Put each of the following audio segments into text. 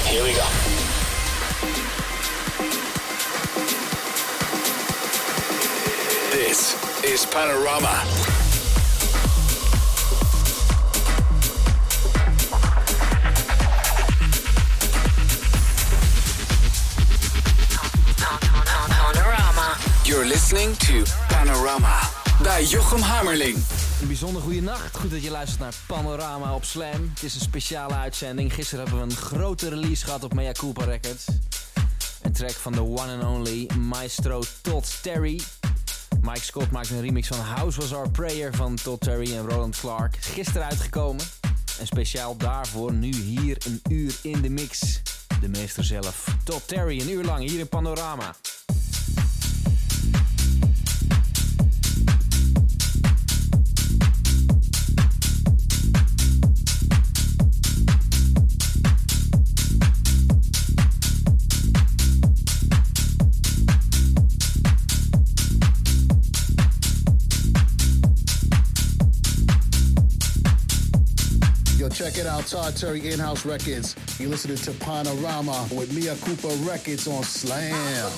Here we go. This is Panorama. You're listening to Panorama bij Jochem Hamerling. Een bijzonder goede nacht. Goed dat je luistert naar Panorama op Slam. Het is een speciale uitzending. Gisteren hebben we een grote release gehad op Mea Culpa Records. Een track van the one and only Maestro Todd Terry. Mike Scott maakt een remix van House Was Our Prayer van Todd Terry en Roland Clark. Is gisteren uitgekomen. En speciaal daarvoor nu hier een uur in de mix. De meester zelf, Todd Terry, een uur lang hier in Panorama. Check it out, Todd Terry In-House Records. You're listening to Panorama with Mea Culpa Records on Slam.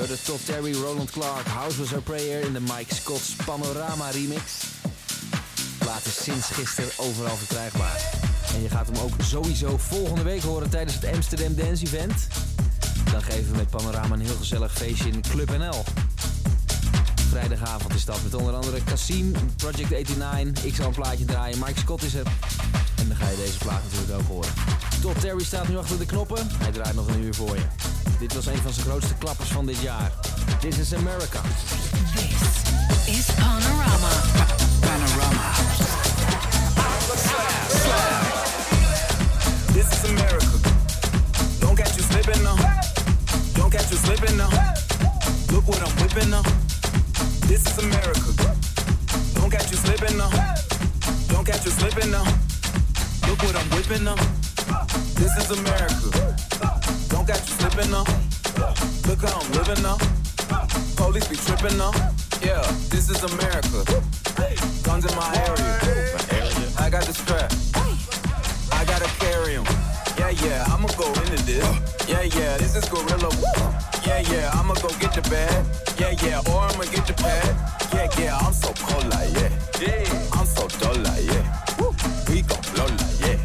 hoorde Todd Terry, Roland Clark, House Was Our Prayer in de Mike Scott's Panorama remix. De plaat is sinds gisteren overal verkrijgbaar. En je gaat hem ook sowieso volgende week horen tijdens het Amsterdam Dance Event. Dan geven we met Panorama een heel gezellig feestje in Club NL. Vrijdagavond is dat met onder andere Kassim, Project 89. Ik zal een plaatje draaien, Mike Scott is er. En dan ga je deze plaat natuurlijk ook horen. Todd Terry staat nu achter de knoppen. Hij draait nog een uur voor je. Dit was een van zijn grootste klappers van dit jaar. This is America. This is Panorama. Panorama. This is America. Don't catch you slipping now. Don't catch you slipping now. Look what I'm whipping now. This is America. Don't catch you slipping now. Don't catch you slipping now. Look what I'm whipping now. This is America. Don't catch you slipping now. Look how I'm living now. Police be tripping now. Yeah, this is America. Guns in my area. I got the strap. I gotta carry 'em. Yeah, I'ma go into this. Yeah, this is gorilla. Yeah, I'ma go get the bag. Yeah, or I'ma get the pad. Yeah, I'm so cold like yeah. I'm so dull like yeah. We gon' blow like yeah.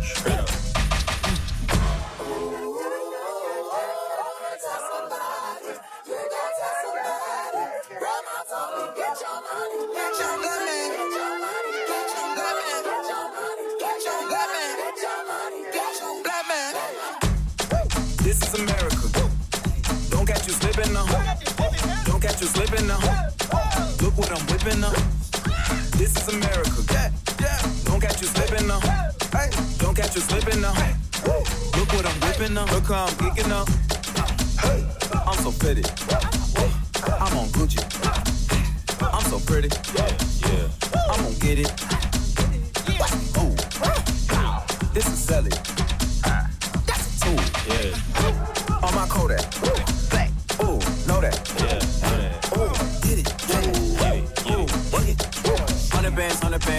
This is America. Don't catch you slipping now. Don't catch you slipping now. Look what I'm whipping now. This is America. Don't catch you slipping now. Don't catch you slipping now. Look what I'm whipping now. Look how I'm geeking now. I'm so pretty. I'm on Gucci. I'm so pretty. Yeah. I'm gonna get it. Ooh. This is Sally. That's a tool. Yeah. On my Kodak. Black. Ooh, know that. Yeah. Ooh, get it. Ooh, work it. 100 bands.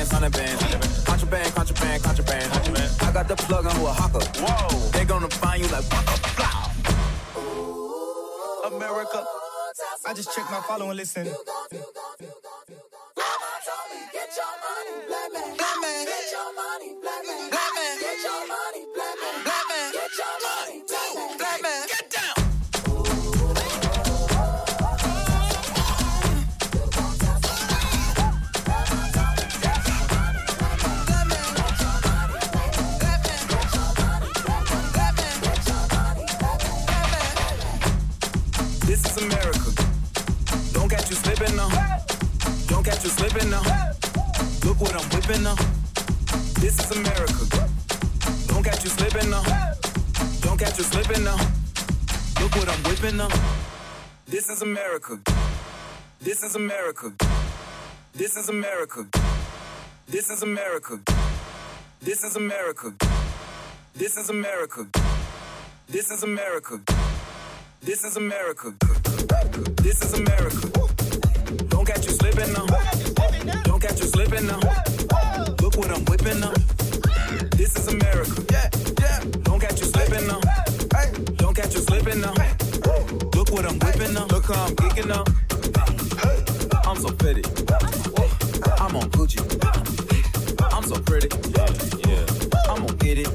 Contraband. I got the plug on who a hawker. Whoa. They gonna find you like waka. America. I just checked my follow and listen. This is America. Don't catch you slipping now. Don't catch you slipping now. Look what I'm whipping now. This is America. Don't catch you slipping now. Don't catch you slipping now. Look what I'm whipping now. This is America. This is America. This is America. This is America. This is America. This is America. This is America. This is America. This is America. Don't catch you slipping now. Don't catch you slipping now. Look what I'm whipping now. This is America. Don't catch you slipping now. Don't catch you slipping now. Look what I'm whipping now. Look how I'm geeking now. I'm so pretty. I'm on Gucci. I'm so pretty. Yeah. I'm gonna get it.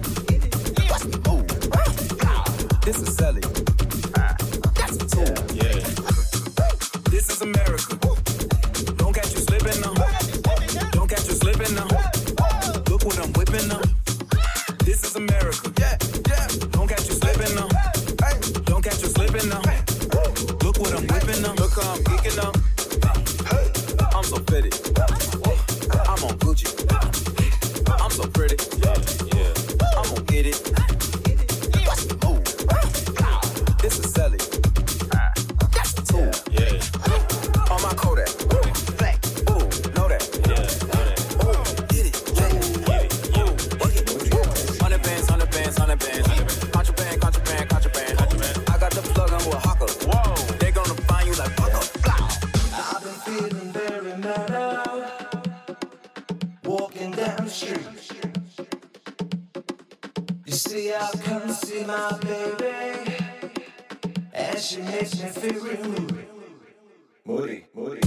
Ooh. This is Sally. That's a tool. Yeah. This is America. Don't catch you slipping now. Don't catch you slipping now. Look what I'm whipping now. This is America. Don't catch you slipping now. Don't catch you slipping now. Look what I'm whipping now. Look how I'm geeking now. I'm so pretty. I'm on Gucci. I'm so pretty. Yeah. I'm gonna get it. Ooh. This is Sally. That's a tool. Yeah. On my Kodak. Black. Ooh, know that. Yeah. Ooh, get it. Ooh, work it. 100 bands. Contraband. I got the plug on who a hawker. Whoa. They gonna find you like waka. I've been feeling very mellow, walking down the street. You see, I come to see my baby, and and she makes me feel real moody. Moody, moody.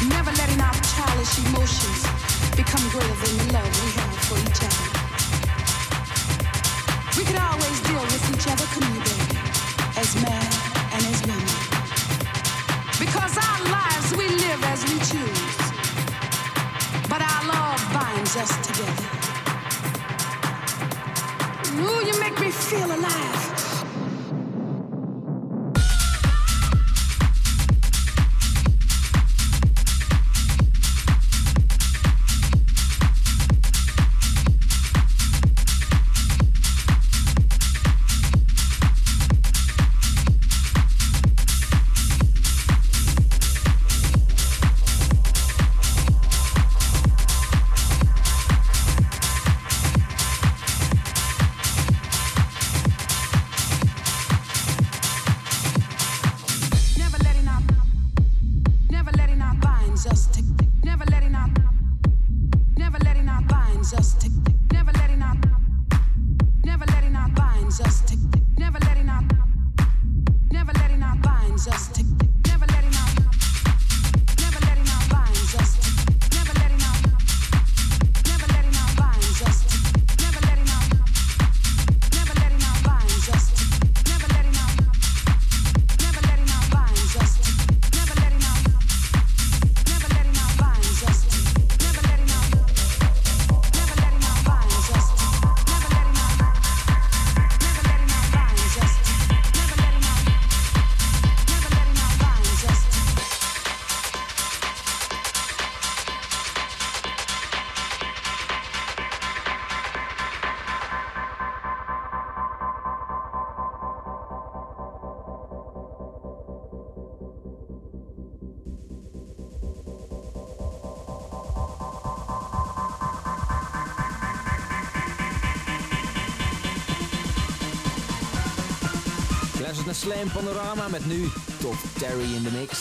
Never letting our childish emotions become greater than the love we have for each other. We could always deal with each other, couldn't you, baby? As man and as women. Because our lives we live as we choose. But our love binds us together. Ooh, you make me feel alive. Luistert naar Slam Panorama met nu Top Terry in de mix.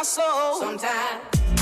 soul sometimes.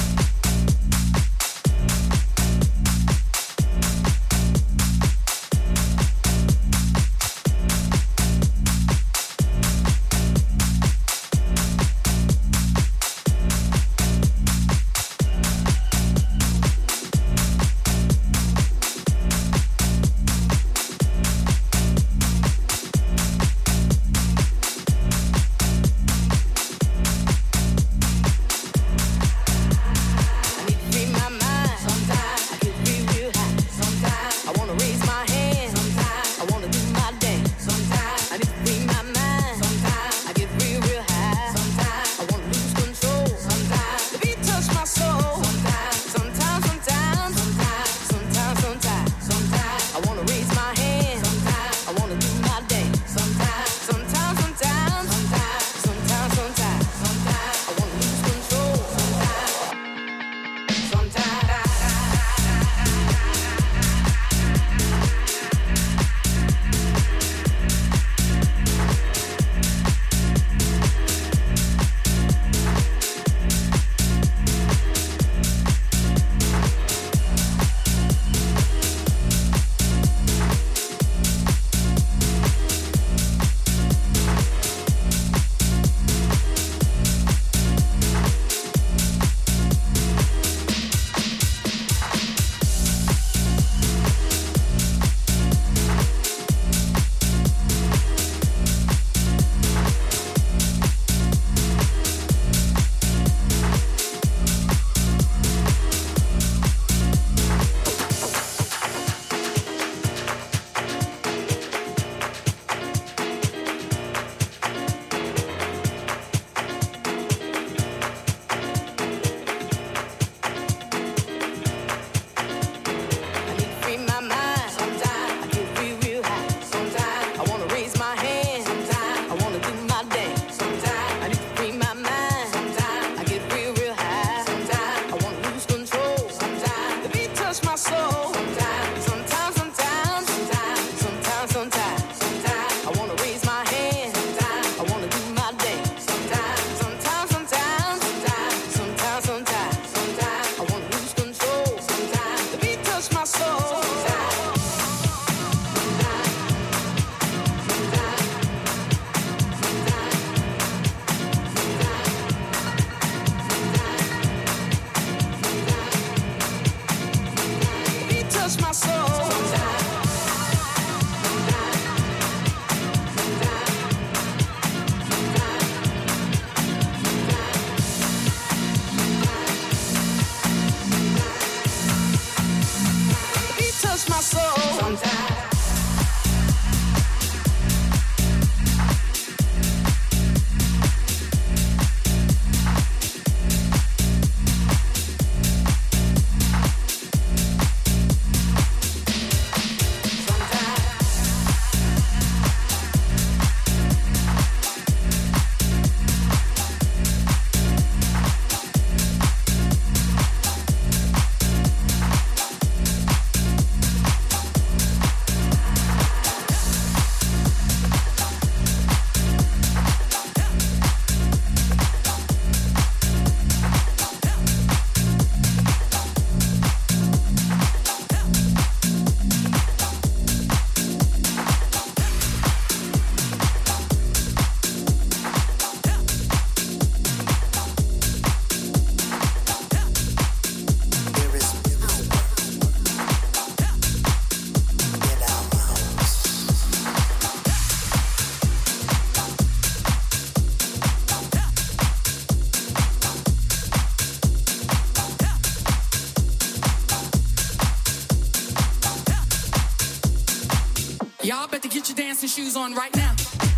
Y'all better get your dancing shoes on right now.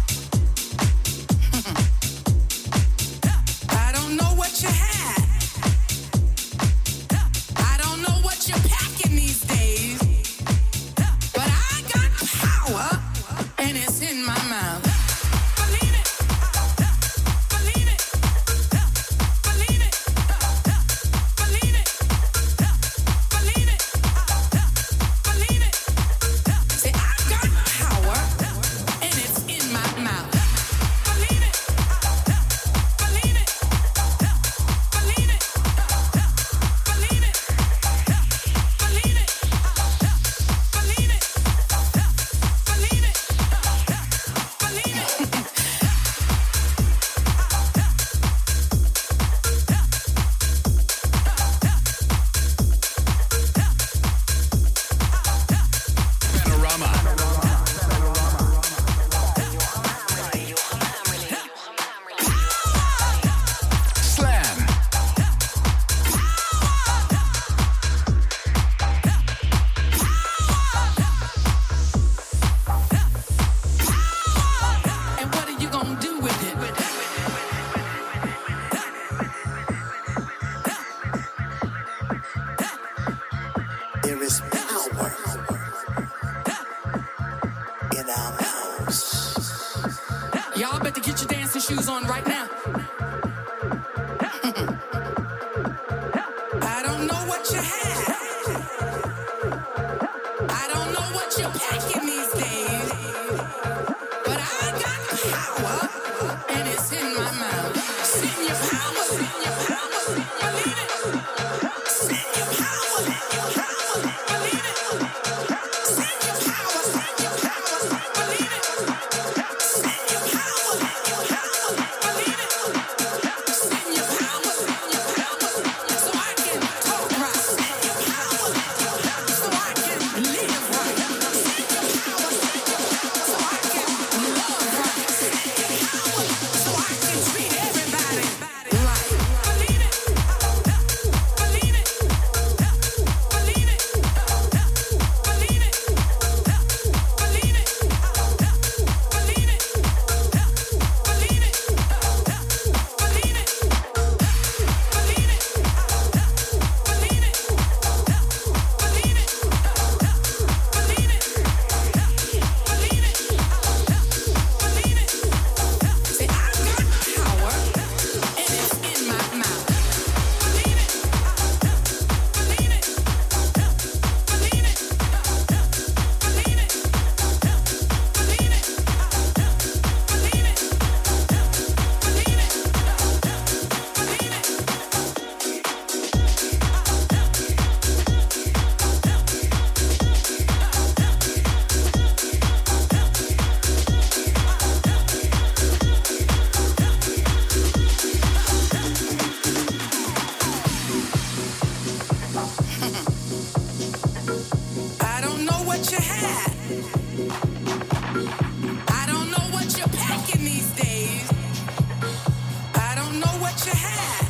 I don't know what you had. I don't know what you're packing these days. But I got power, and it's in my mouth. Believe it. Believe it. Believe it. Believe it. Believe it. Believe it. Say, I got power, and it's in my what you're packing these days, but I got power, and it's in my mouth. Send your power, believe it. Send your power, believe it. Send your power, believe it. Send your power, believe it. Send your power, so I can talk right. Send your power, so I can live right. Send your power, so I can love right. Send your power, so I can treat everybody right. Believe it, believe it, believe it, believe it, believe it, believe it, believe it, believe it, believe it. Say, I got power, and it's in my mouth. Believe it, believe it, believe it, believe it, believe it, believe it, believe it, I don't know what you had. I don't know what you're packing these days. I don't know what you had.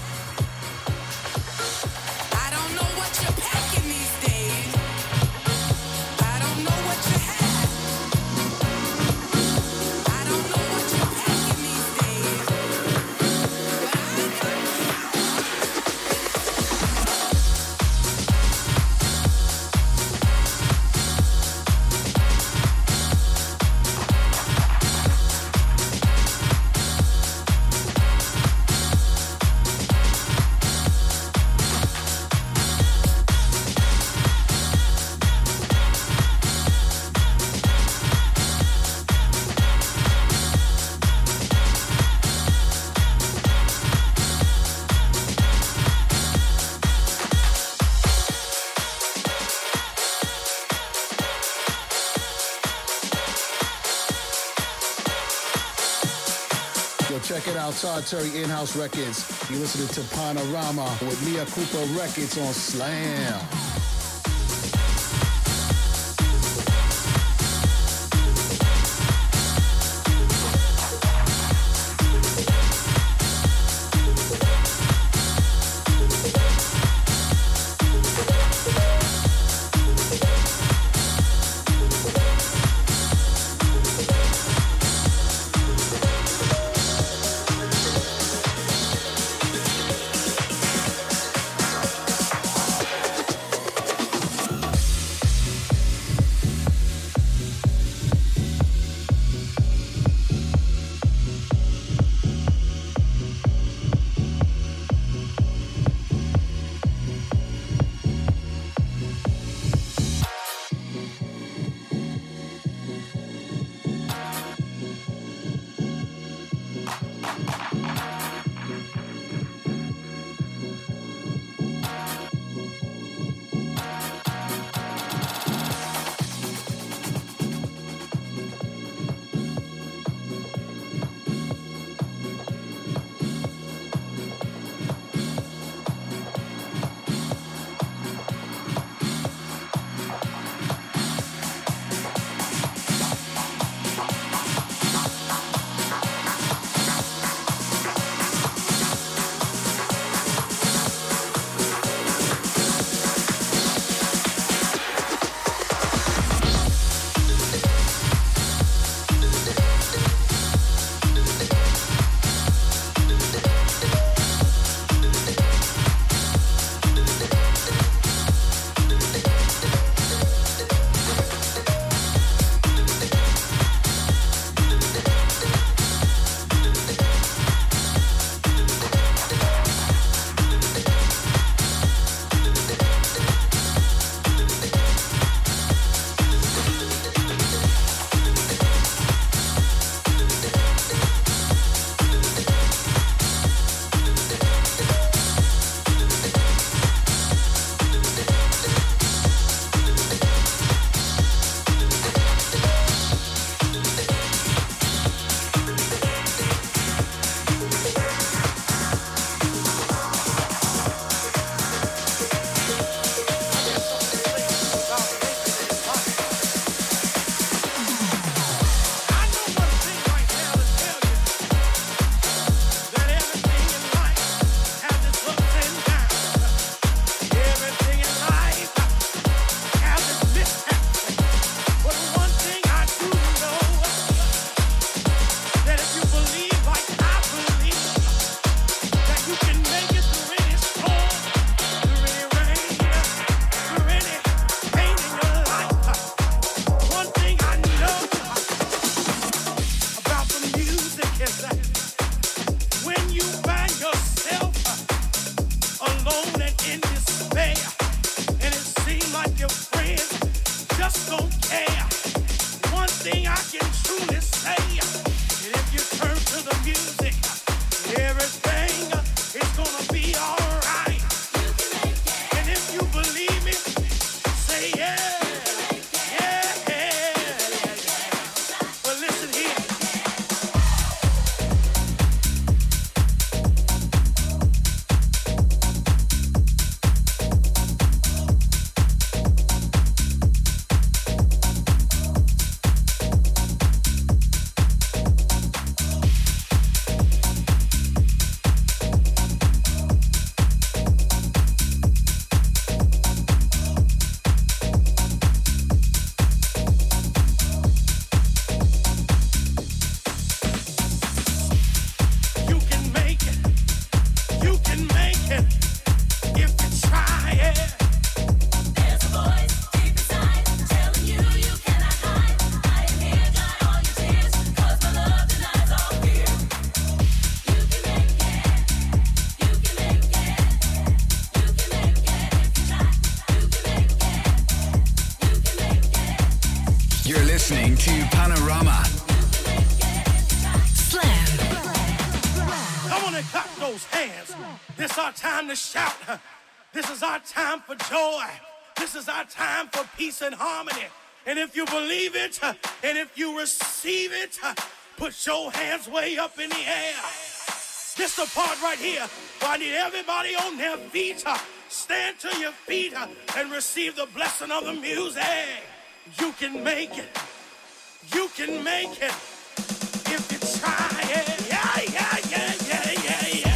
I don't know what you're packing these days. I don't know what you had. I don't know what you're packing these days. But I got Yo, check it out, Todd Terry In-House Records. You're listening to Panorama with Mia Cooper Records on Slam. listening to Panorama. Slam. Come on and clap those hands. This is our time to shout. This is our time for joy. This is our time for peace and harmony. And if you believe it, and if you receive it, put your hands way up in the air. This the part right here where I need everybody on their feet. Stand to your feet and receive the blessing of the music. You can make it. You can make it if you try it. Yeah, yeah, yeah, yeah, yeah, yeah.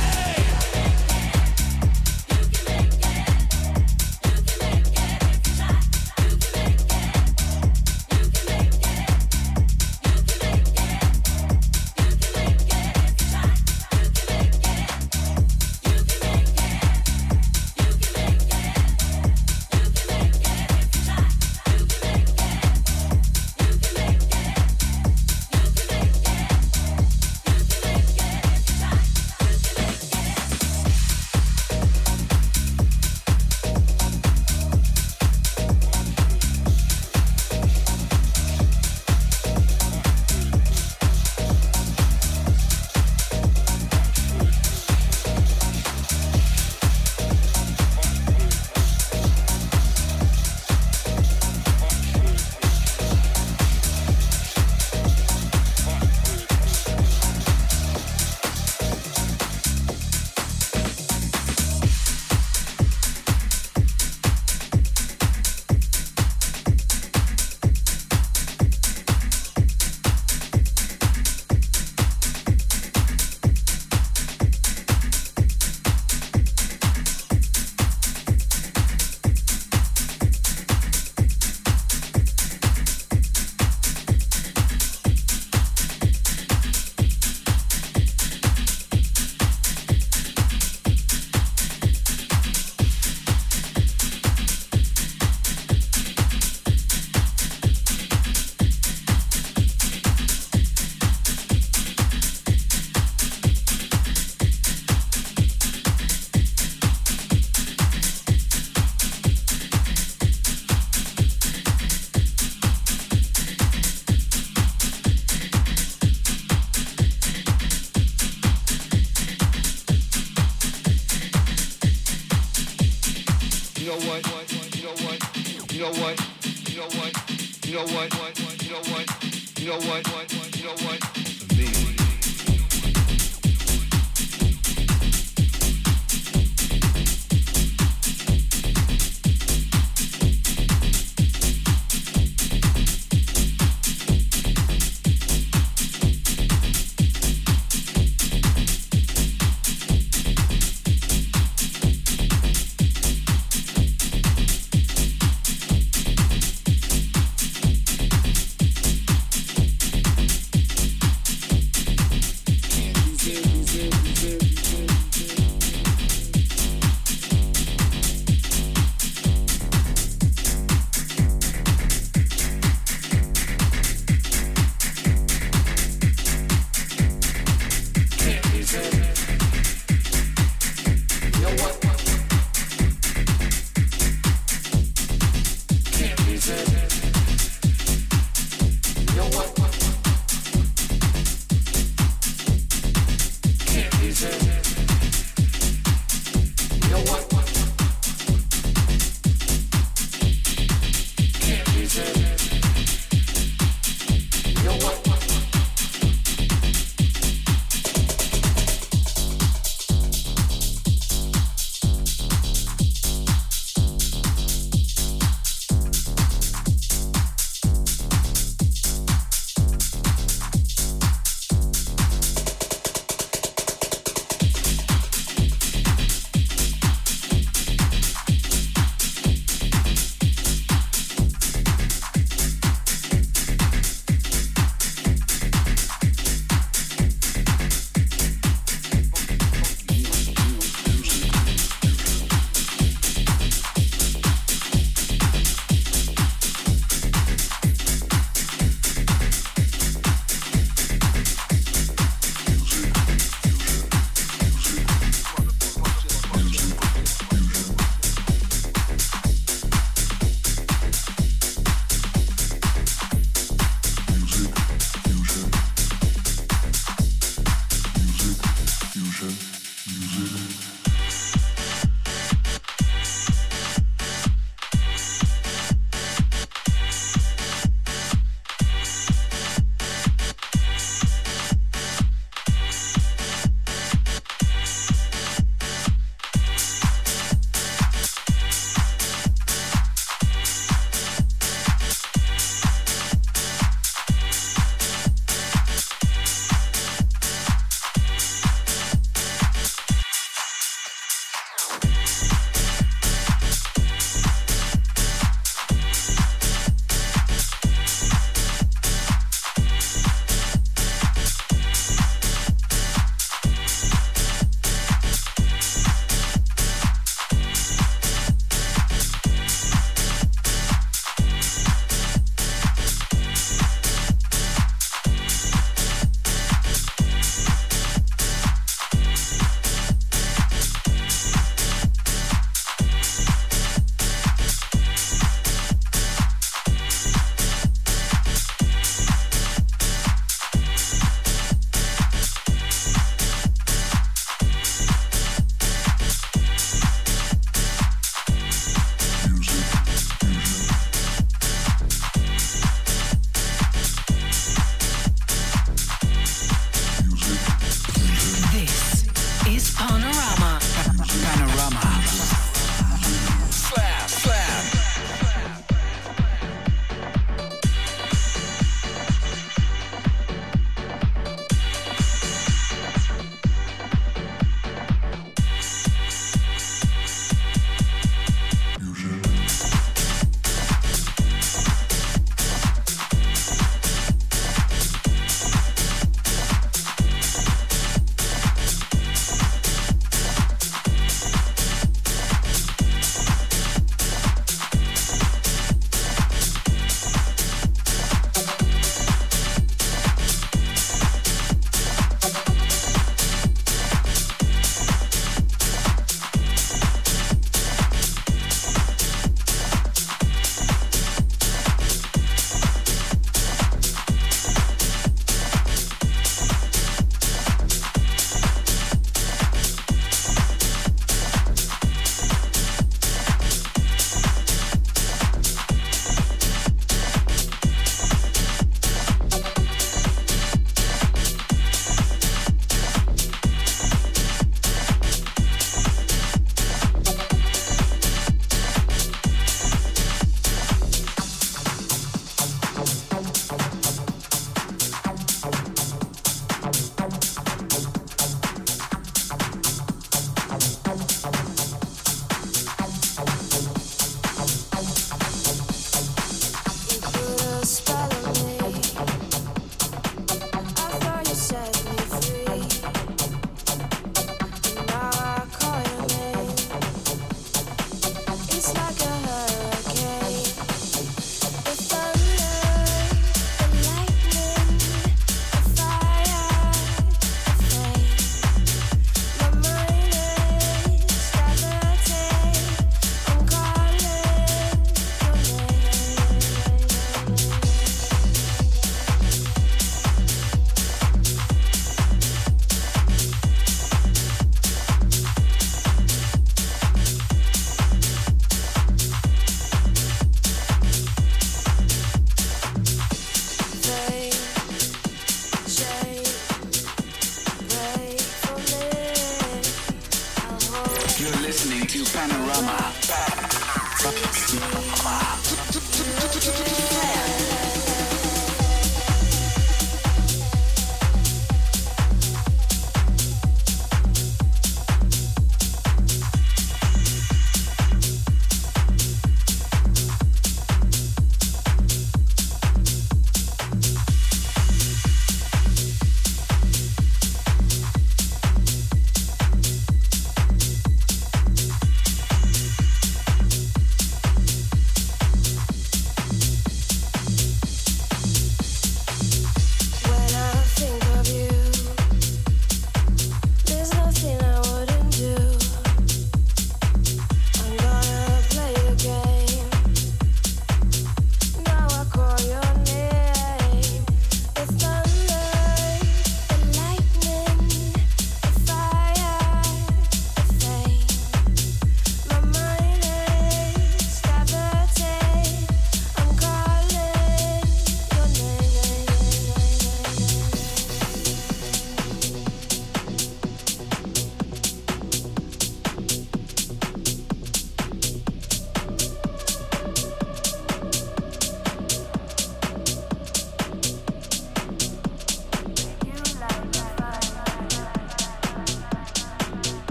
to Panorama.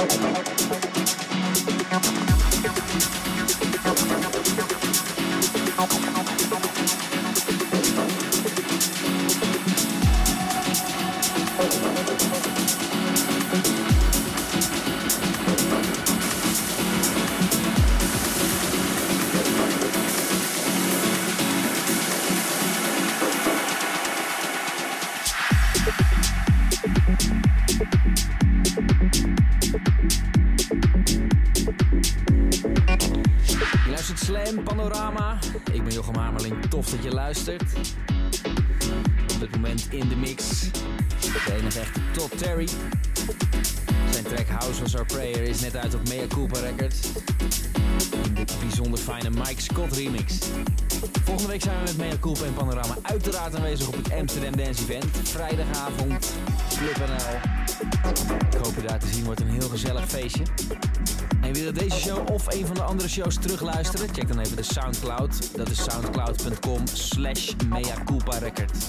Panorama. Ik ben Jochem Hamerling, tof dat je luistert. Op dit moment in de mix. De enige echte Todd Terry. Zijn track House Was Our Prayer is net uit op Mea Culpa Records. In de bijzonder fijne Mike Scott remix. Volgende week zijn we met Mea Culpa en Panorama uiteraard aanwezig op het Amsterdam Dance Event. Vrijdagavond, Club NL. Ik hoop je daar te zien, wordt een heel gezellig feestje. En wil je deze show of een van de andere shows terugluisteren? Check dan even de Soundcloud. Dat is soundcloud.com/meaculparecord.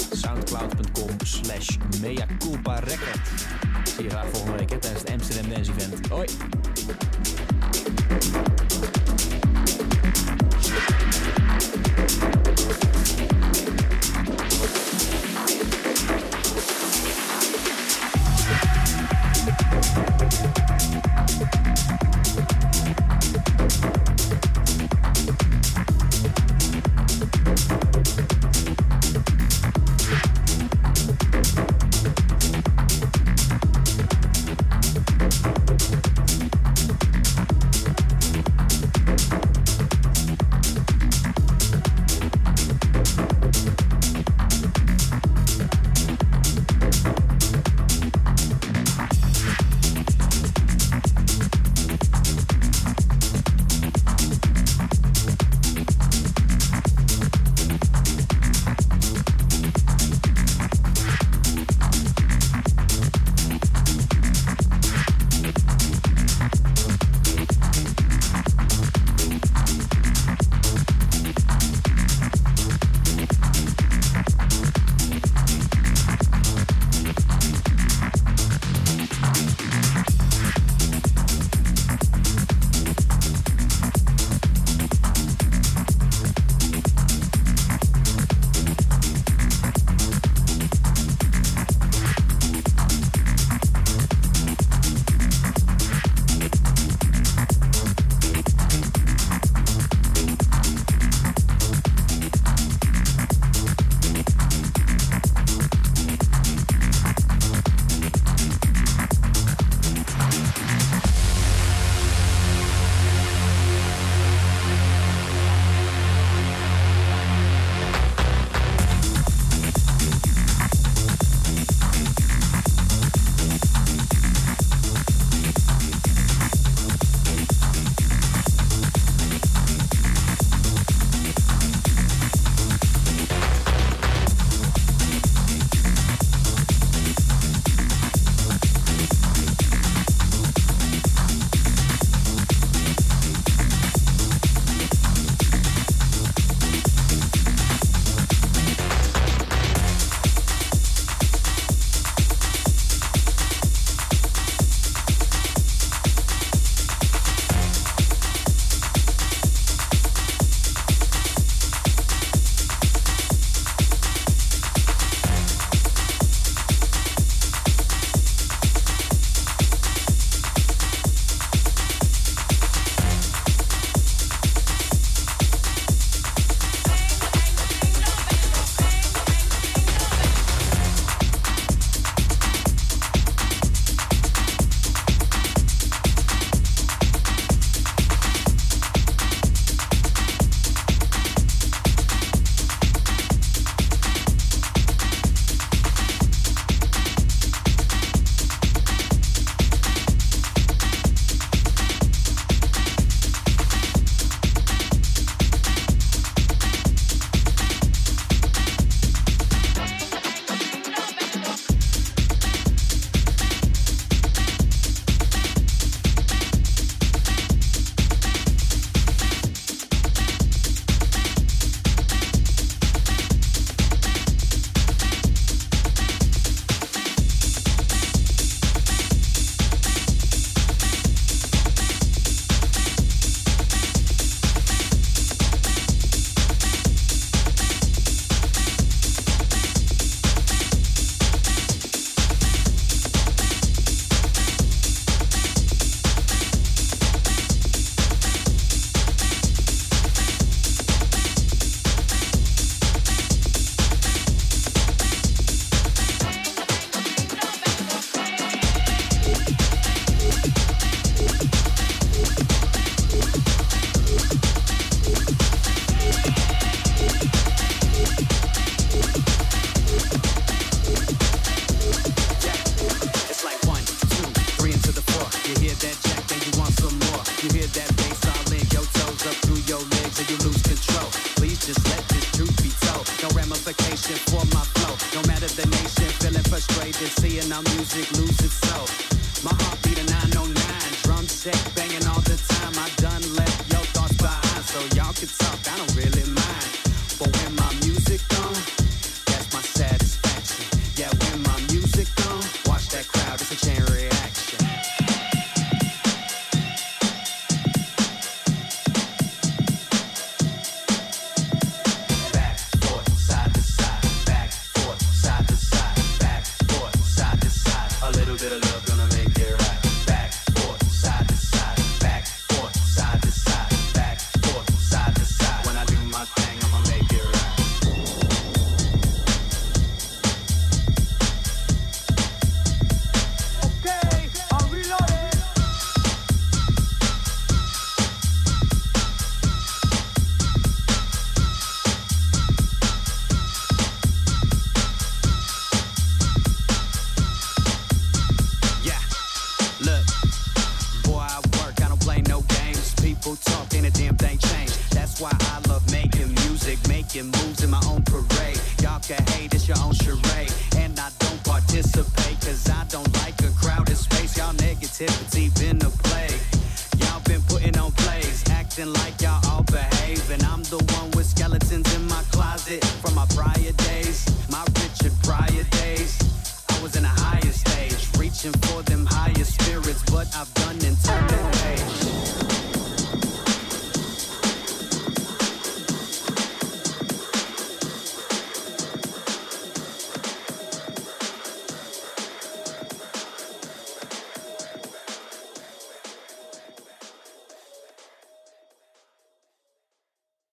Soundcloud.com/meaculparecord. Zie je graag volgende week tijdens het Amsterdam Dance Event. Hoi! You hear that jack, then you want some more. You hear that bass all in your toes, up through your legs, and you lose control. Please just let this truth be told. No ramification for my flow. No matter the nation, feeling frustrated, seeing our music lose its soul. My heartbeat a 909, drum set banging all the time. I done left your thoughts behind, so y'all can talk, I don't really mind. But when my music on, that's my satisfaction. Yeah, when my music on, watch that crowd, it's a chain reaction. Back, forth, side to side, back, forth, side to side, back, forth, side to side. A little bit of love gonna make it right. Back, forth, side to side, back, forth, side to side, back, forth, side to side. When I do my thing, I'ma make it right. Okay, I'm reloading. Yeah, look, boy, I work, I don't play no games. People talk, ain't a damn thing changed. That's why I love making music, making moves in my own parade. Y'all can hate, it's your own charade. And I don't participate, cause I don't like a crowded space. Y'all negativity been a plague. Y'all been putting on plays, acting like y'all all behave. And I'm the one with skeletons in my closet from my prior